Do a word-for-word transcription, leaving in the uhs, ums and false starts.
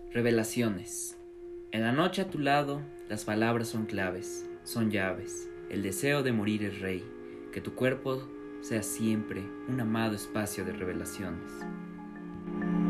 Revelaciones. En la noche a tu lado, las palabras son claves, son llaves. El deseo de morir es rey. Que tu cuerpo sea siempre un amado espacio de revelaciones.